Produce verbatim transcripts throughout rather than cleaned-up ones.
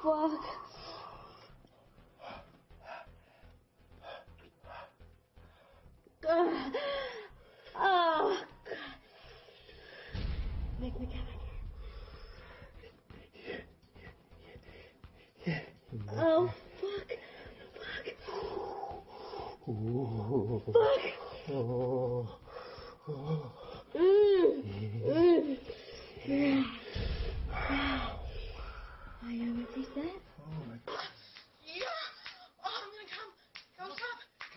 fuck. Uh, oh, God. Make me come in. Oh, fuck. Fuck. Fuck. Mm. Mm. Oh, you know what he said? Oh, my God. Yeah! Oh, I'm gonna come. Don't stop.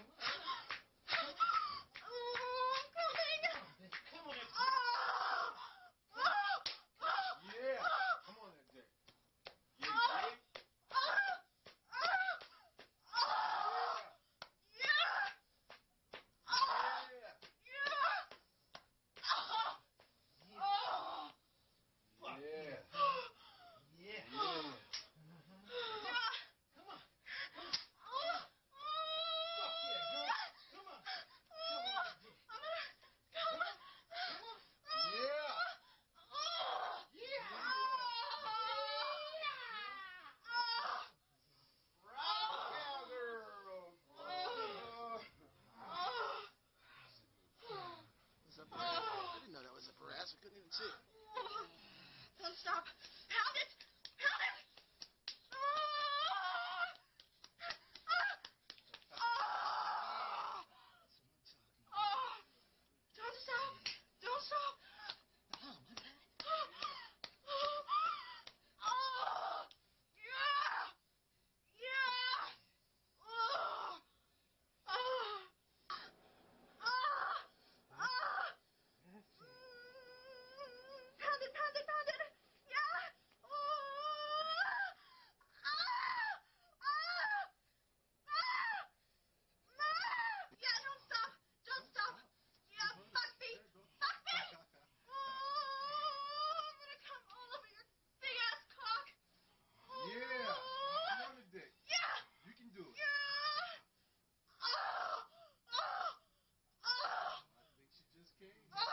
Oh, I'm coming. Come on, Oh! Oh! Oh! yeah. Come on, that dick. Yeah, Oh! dick. Oh! Oh! Yeah! Oh! Yeah. Yeah! Oh! Oh! Yeah. Yeah. Yeah. Yeah. Come on. Oh. Fuck yeah, girl. Come on. Come on, dick. I'm gonna come on. Yeah. Yeah. Rock out, girl. What's up, Brad? I didn't know that was a brass. I couldn't even see it. Don't stop. Pound it. Pound it. Don't stop. Don't stop. Yeah. Yeah. Pound it, pound it, pound it. Yeah. Yeah, don't stop. Don't stop. Yeah, fuck me. Fuck me. Oh, I'm gonna come all over your big ass cock. Yeah. Come on, the dick. Yeah. You can do it. Yeah. Oh. Oh. Oh. I think she just came. Oh.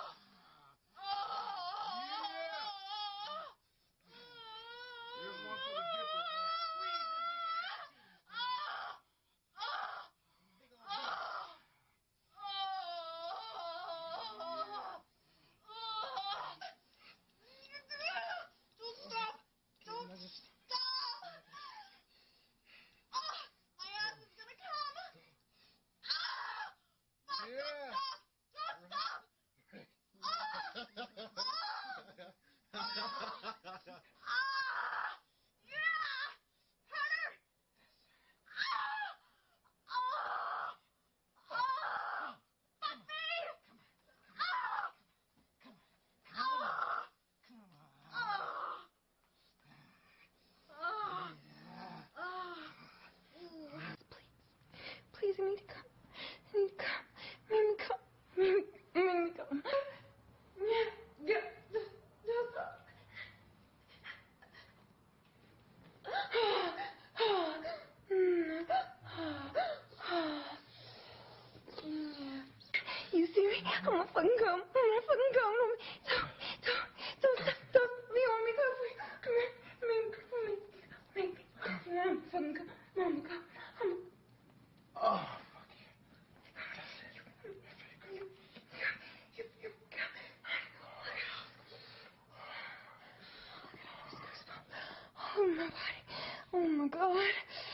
Here's one for the dipper. Squeeze it, big ass. Don't stop! Don't stop! Oh, my ass is gonna come! Ah! Yeah. Don't stop! Don't stop! Ah! Yeah! Harder! Ah! Oh! Oh! Fuck me! Ah! Ah! Ah! Ah! Ah! Please, I need to come. I need to come. Make me come. Make me, make me come. Yeah, yeah. Just, just. You see me? I'm gonna fucking come. I'm gonna fucking come. Don't, don't, don't, stop, don't. You want me to come? Come here. Make me, make me, make me. I'm fucking come. I'm gonna come. I'm Oh, fuck you. You, you, you, come. Oh, my body. Oh, my God.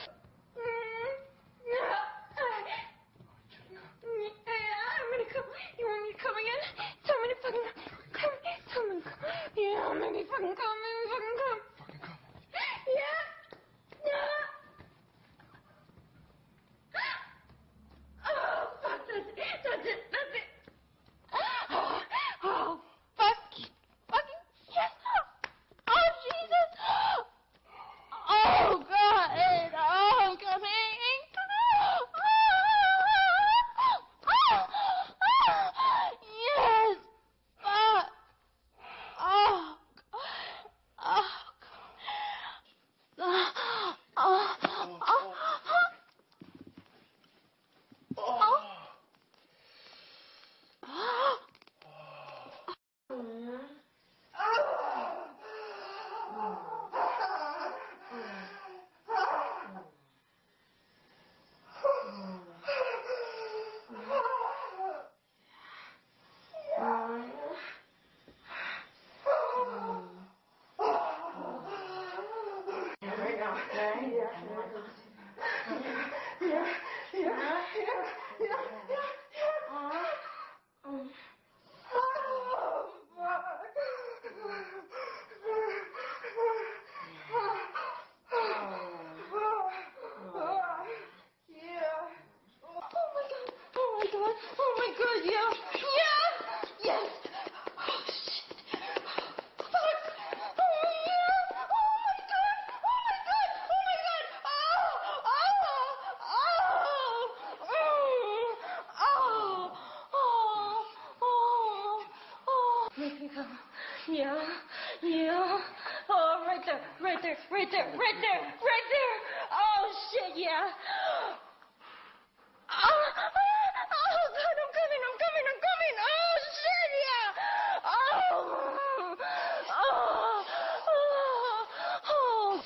I'm gonna come. You want me to come again? Tell me to fucking come. Tell me to come. Yeah, make me fucking come. Make me fucking come. Fucking come. Yeah. Yeah. Oh, fuck. That's it. That's it. That's it. Oh, oh fuck. Fucking yes. Oh, Jesus. Oh, God. god. Oh my god, yeah. Yeah. Yes. Oh shit. Fuck. Oh yeah. Oh my god. Oh my god. Oh my god. Oh. Oh. Oh. Oh. Oh. Oh. Oh. Make me come. Yeah. Yeah. Oh, right there. Right there. Right there. Right there. Right there. Oh shit, yeah. Oh, oh, God, I'm coming, I'm coming, I'm coming. Oh, shit, yeah. Oh, oh, oh,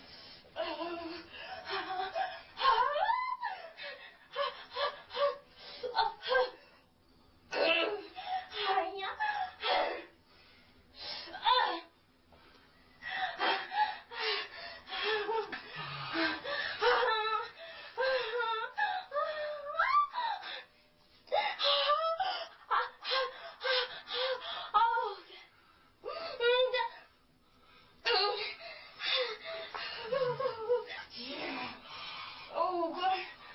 oh, God.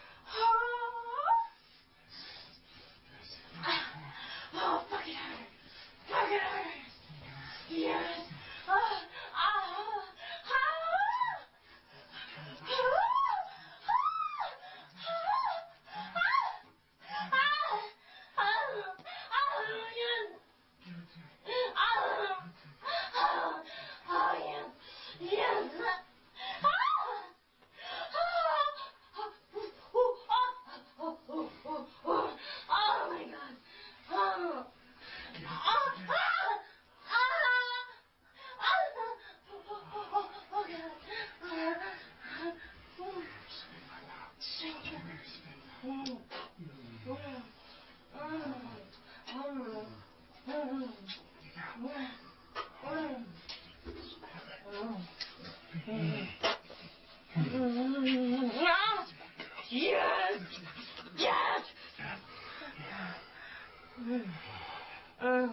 Oh, fuck it hurt. Fuck it hurt. Yes. Ah, ah, ah, oh my god. Oh. Yes! Yes! Oh.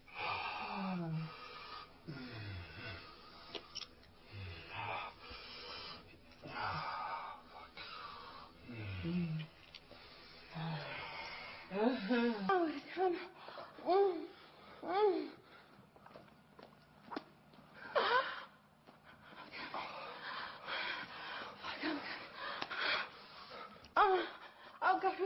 Oh, come. Mm. Mm. Oh, oh, God.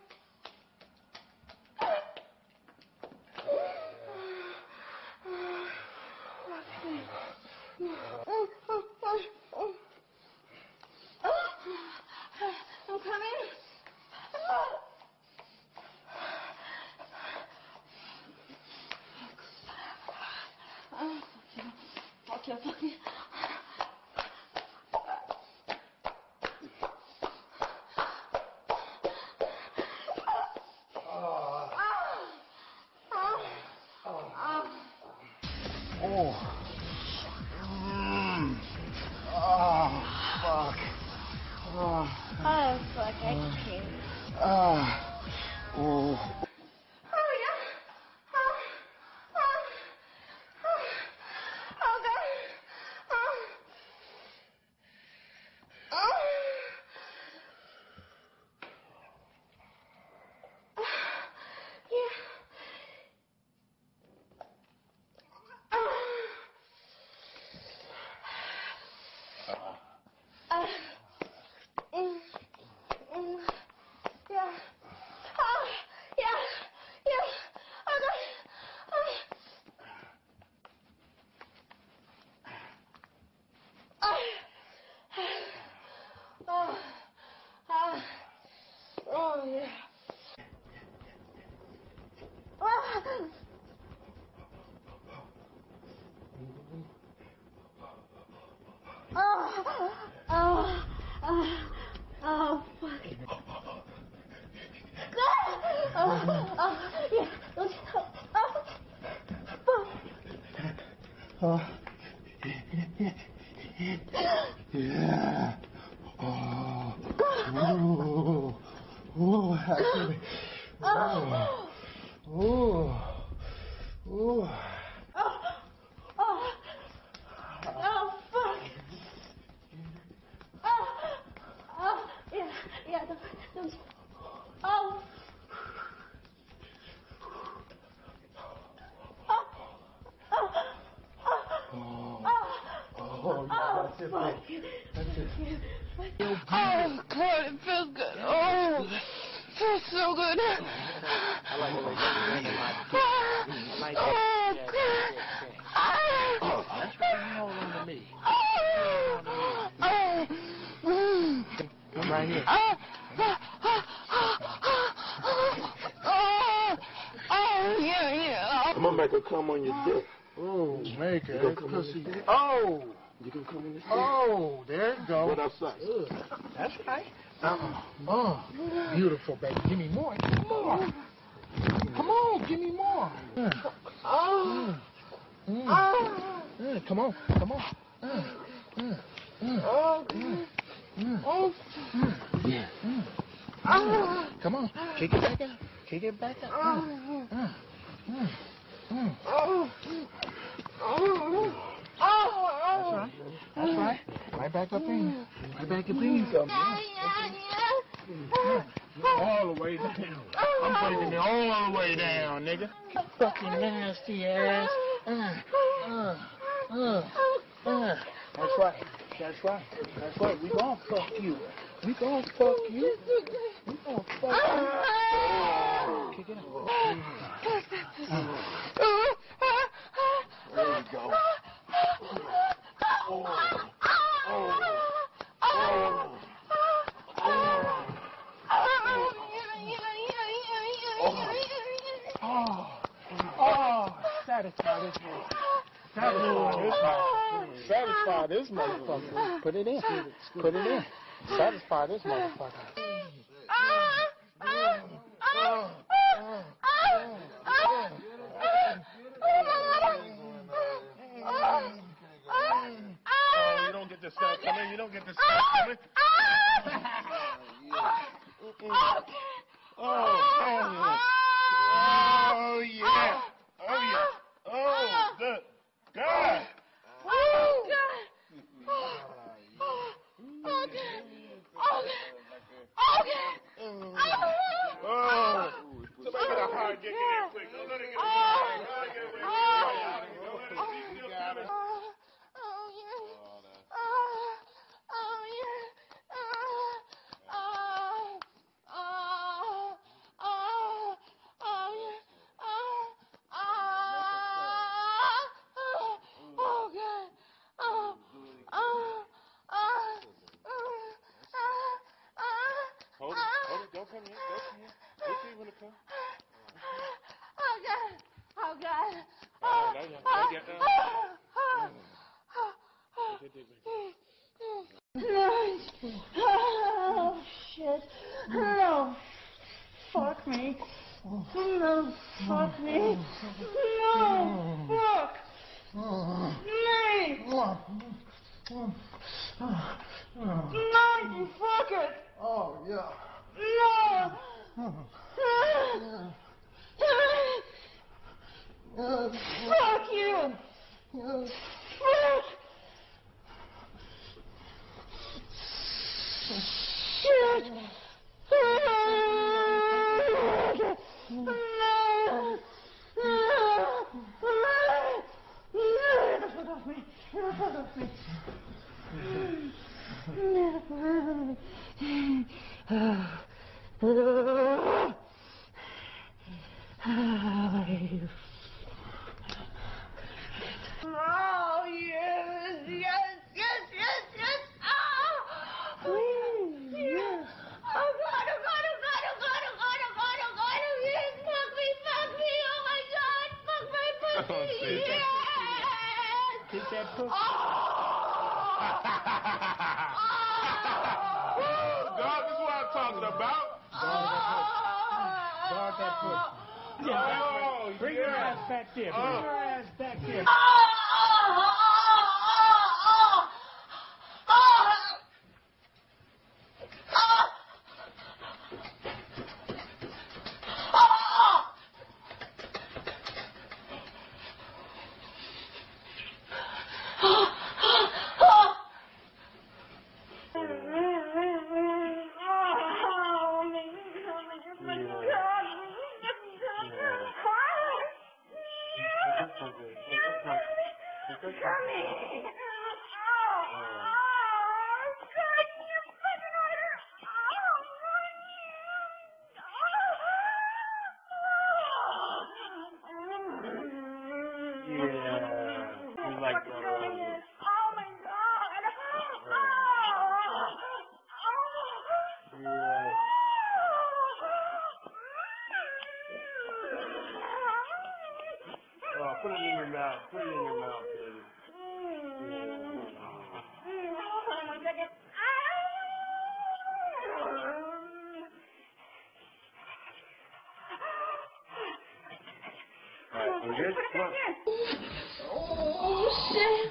I'm coming. Oh, fuck you. Fuck you, fuck you. Oh. Mm. Oh, fuck. Oh. Oh, fuck, I can't. Ah. Oh. Oh, yeah. Oh, oh, oh, oh, God. Oh, oh. Yeah. Uh, mm, mm, yeah. Oh, yeah, yeah. Oh, God. Oh. Oh. Oh. Oh. Oh, yeah. Oh. Oh. Oh. Oh. Oh, fuck. Oh, oh, yeah. Oh, oh. Oh. Yeah. Oh. Oh. Oh, actually. Oh. Oh. Oh. Oh, oh, oh, fuck. Oh, oh, yeah, yeah, don't, don't, oh, it, baby. That's it. Oh, God, it feels good. Oh, it feels so good. I like the way you I like oh, God. Oh, that's right. Hold on to me. Oh, oh. Come right here. Oh, oh, oh, oh, yeah, yeah. I'm gonna make her come on your dick. Oh, make You it. gonna come on your dick? Oh. You gonna come on your dick? Oh, there you go. What else? That's right. Uh-uh. Oh, beautiful, baby. Give me more. Give me more. Come on, give me more. Uh. Oh. Mm. Mm. Oh. Mm. Come on, come on. Mm. Mm. Mm. Oh. Mm. Mm. Oh. Mm. Yeah. Mm. Oh. Come on, kick it back up. Kick it back up. Oh. Mm. Mm. Mm. Oh. Oh. That's right. That's right. Right back up in. Right back up in. Yeah, yeah, yeah. All the way down. I'm taking it all the way down, nigga. Fucking nasty ass. Uh, uh, uh, uh. That's right. That's right. That's right. We gon' fuck you. We gon' fuck you. We gon' fuck you. Kick it out. There you go. Oh. Oh. Oh. Oh, oh, satisfy this motherfucker. Satisfy this motherfucker. Satisfy this motherfucker. Put it in. Put it in. Satisfy this motherfucker. Oh, you don't get the stuff coming. You don't get the stuff coming. Oh, oh, oh, yeah. Oh, yeah. Oh, good. God. Oh, God. Oh, okay. Okay. Okay. Oh. Somebody get a hard get in quick. Don't let it get away. Don't let it get away. Don't let it see still coming. Oh, yeah. Oh, oh, yeah. Oh, oh, oh, oh, oh, yeah. Oh, oh, oh, God. Oh, oh, oh, Hold it. Hold it. Don't come in. Don't come in. We'll see when it comes. oh, God. Oh, God. Oh, now you now you get down. Oh, shit. No. Fuck me. No, fuck me. No, fuck. Me. No, you fuck it. Oh, yeah. No. Fuck you. Fuck. Shit. No. Fuck off me. Fuck off me. Oh, yes, yes, yes, yes, yes. Oh, please, yes. Oh, God, oh, God, oh, God, oh, God, oh, God, oh, God, oh, God, oh, yes. Fuck me, fuck me, oh, my God. Fuck my pussy, yes. Kick that pussy. Oh. Dog, this is what I'm talking about. Dog that pussy. Yeah, oh, bring yeah. your ass back there. Bring uh. your ass back there. Coming. Oh. You like that, right? Oh my God. Yeah. Oh, put it in your mouth. Put it in your mouth, baby. All right, I'm good. Come on. Oh, shit.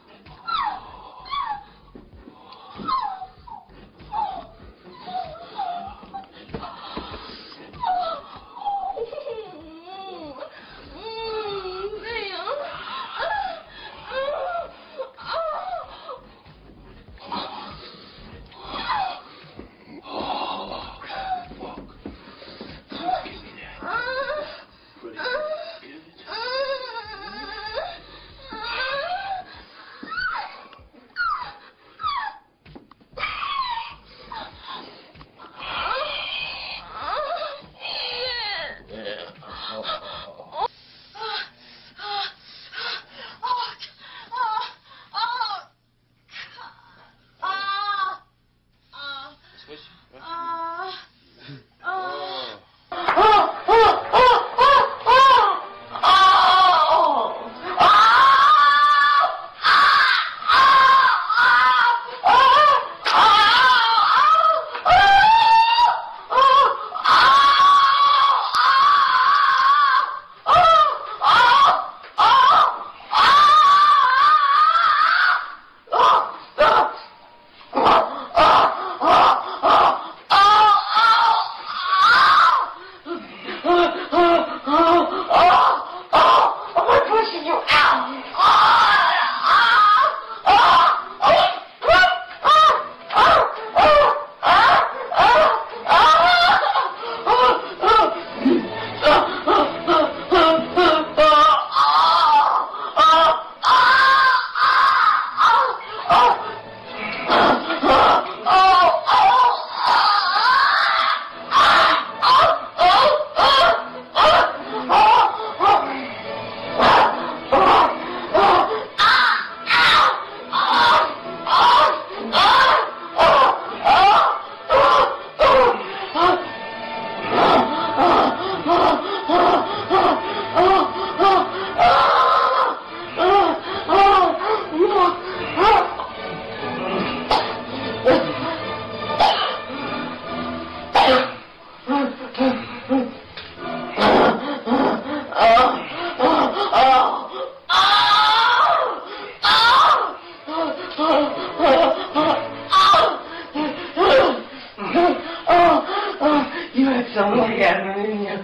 You had some orgasm in you.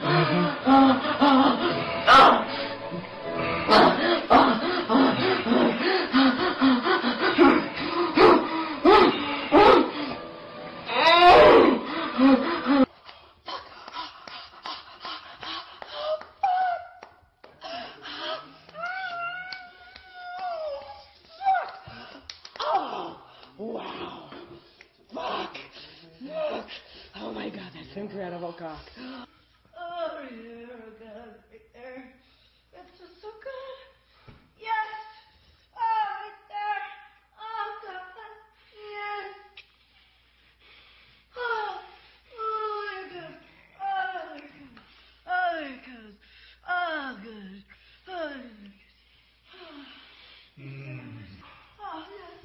Wow. Fuck. Look. Oh my God, that's incredible cock. Oh, yeah, God, right there. That's just so good. Yes. Oh, right there. Oh, God. Yes. Oh, oh, you're good. Oh, you're good. Oh, you're good. Oh, good. Oh, you're good. Mm. Oh, yes.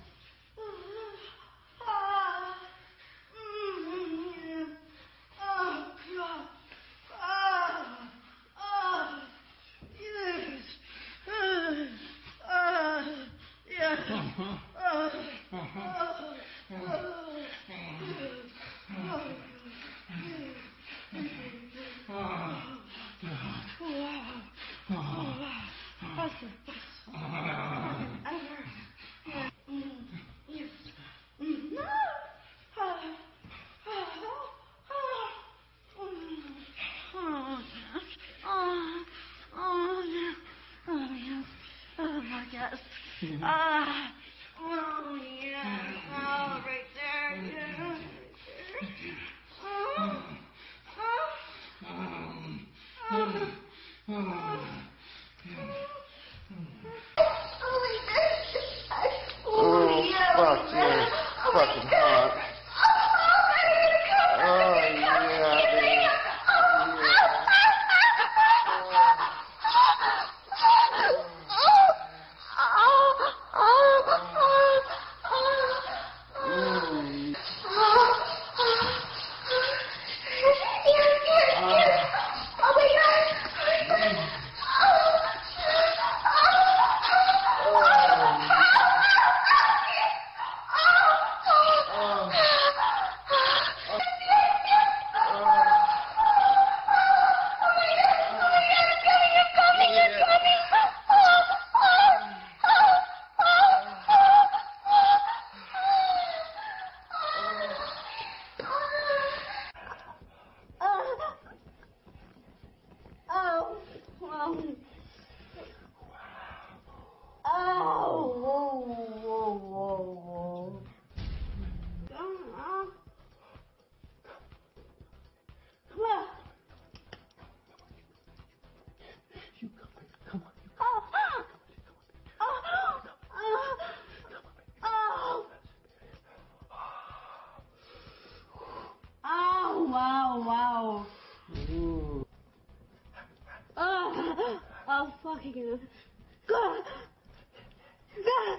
Ah. Mm, yes. Oh, God. Ah. Ah. Yes. Ah. Ah. Yes. Ah. Ah. Ah. Ah, oh yeah, oh right there, yeah, right there. Oh, oh, oh, oh, oh. fucking hot. Oh, yeah, baby. Wow, wow. Ooh. Oh, oh, fucking. God. God.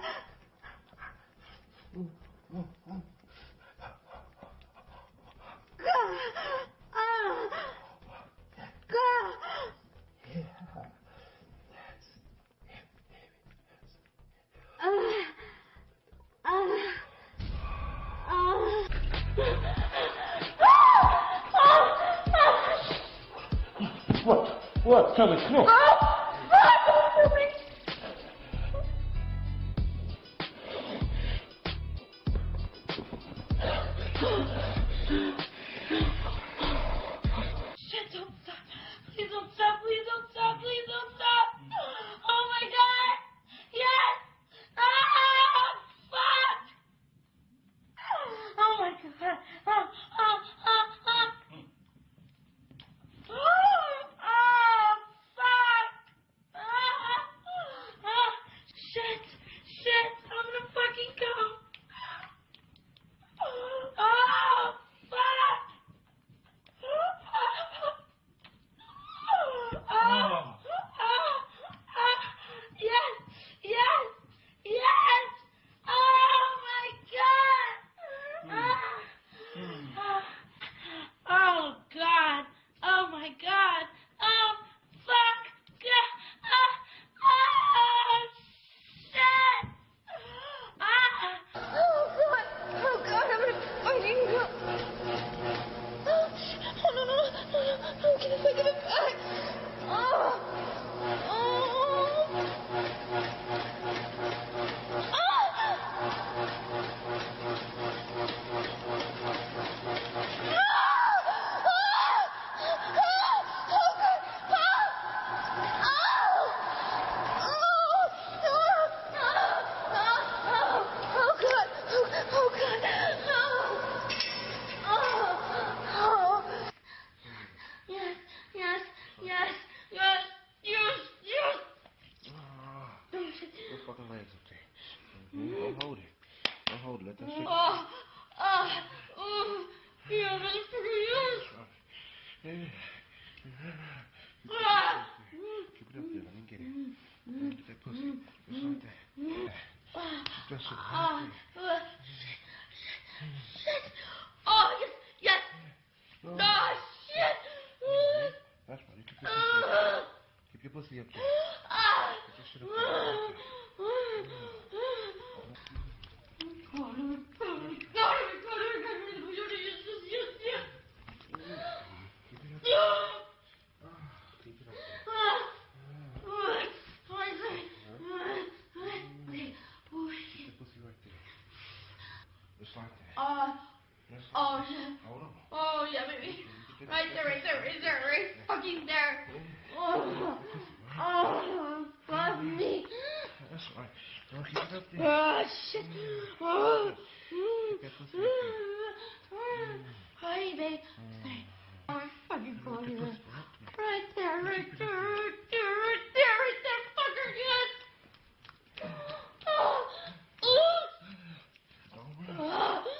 God. Ah. God. Yeah. That's it, baby. Ah. Ah. Ah. What? What? Tell me, come on. Shit, don't stop. Please don't stop. Please don't stop. Please don't stop. Oh my God. Yes. Ah, fuck. Oh my God. Oh, oh, oh, oh. Oh, oh, fuck. Ah, ah, shit. Shit. I'm gonna fucking go. Oh, fuck. Oh, yes, yes, yes. Oh my God. Oh God. Oh my God. Oh fuck. Oh shit. Ah. Oh, God. Oh, God, I'm gonna fucking go. Oh, no, no, no, no, no, give it back, give it back. Oh. Oh. Yes, yes, yes, yes, yes, yes. Your fucking legs up there. Mm-hmm. Don't hold it. Don't hold it. Let that shit. Oh, oh, oh, yeah, motherfucker, yes. Yeah. Ah. Keep it up there. Let me get it. Let me get that pussy. Just like that. Keep that shit right there. Shit. Oh, yes, yes. Oh, shit. That's right. You keep your pussy up there. Keep your pussy up there. Get your shit up there. Just like that. Uh, Just like oh, that. yeah. Hold on. Oh, yeah, baby. Right there, right there, right there, right fucking there. Oh, oh, fuck me. That's right. Don't keep it up there. Oh, shit. Oh. Keep that pussy up there. Hi, babe. Oh, my fucking phone here. Right there, right there, right there, right there, right there, fucker, yes. Oh, oh. Don't run. Oh.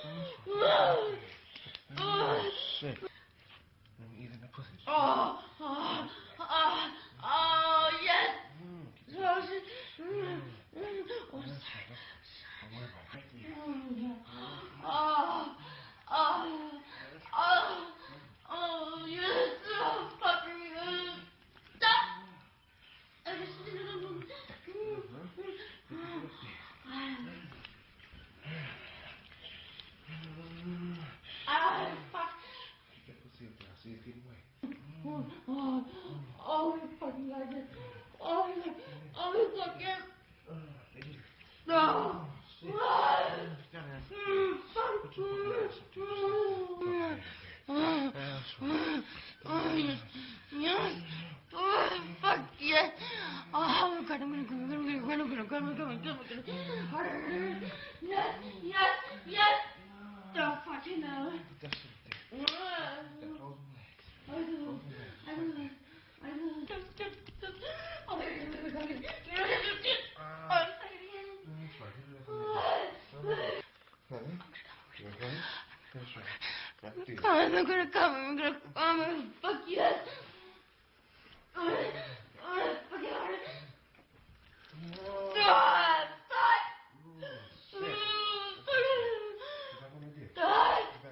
Oh, oh, oh, you fucking like it. Oh, you, oh, you fuck it. No. Fuck yeah. Oh, God, I'm gonna go, I'm gonna go, I'm gonna go, I'm gonna go, I'm gonna go. Harder. Yes, yes, yes. Don't fucking know. That's it. That holds my I do. I do. I do. Just, just, just. Oh, my God, oh, my God. Oh, I'm gonna come, I'm gonna come, I'm gonna come, fuck yes.